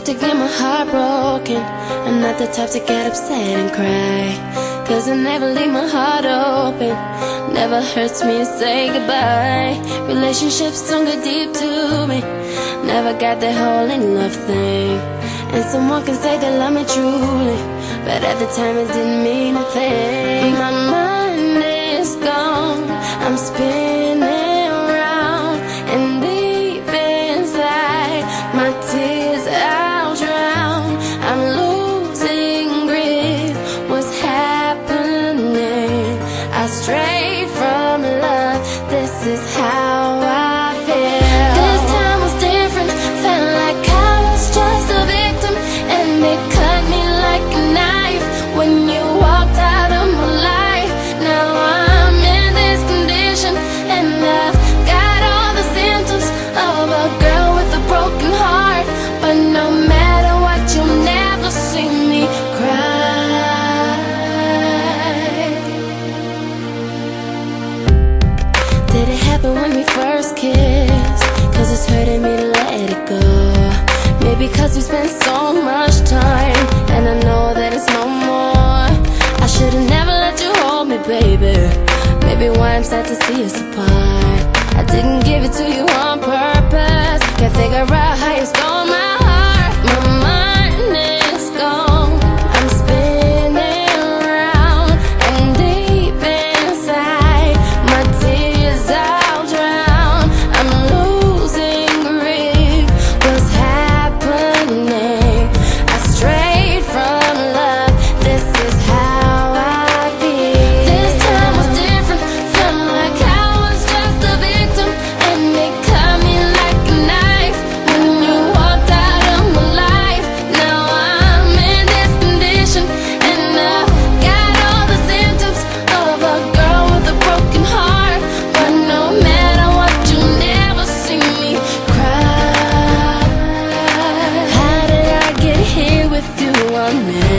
to get my heart broken. I'm not the type to get upset and cry, 'cause I never leave my heart open. Never hurts me to say goodbye. Relationships don't get deep to me. Never got that whole in love thing. And someone can say they love me truly, but at the time it didn't mean a thing. My mind is gone, I'm spinning around, and deep inside my tears I'll drown. I'm losing grip, what's happening? I strayed from love, this is how I feel. This time was different, felt like I was just a victim, and it cut me like a knife when you walked out of my life. Now I'm in this condition, and I've got all the symptoms of a girl with a broken heart. But no matter what, you'll never see me cry. Did it happen when we first kissed? 'Cause it's hurting me to let it go. Maybe 'cause we spent so much time, and I know that it's no more. I should've never let you hold me, baby. Maybe why I'm sad to see us apart. I didn't give it to you on purpose. Can't figure out how you stole my heart. My mind is gone, I'm spinning around, and deep inside my tears I'll drown. I'm losing grip, what's happening? I strayed from love, this is how I feel. This time was different, felt like I was just a victim, and it cut me like a knife when you walked out of my life. Now I'm in this condition, and I've got all the symptoms of a girl with a broken heart. But no matter what, you never see me cry. How did I get here with you? I'm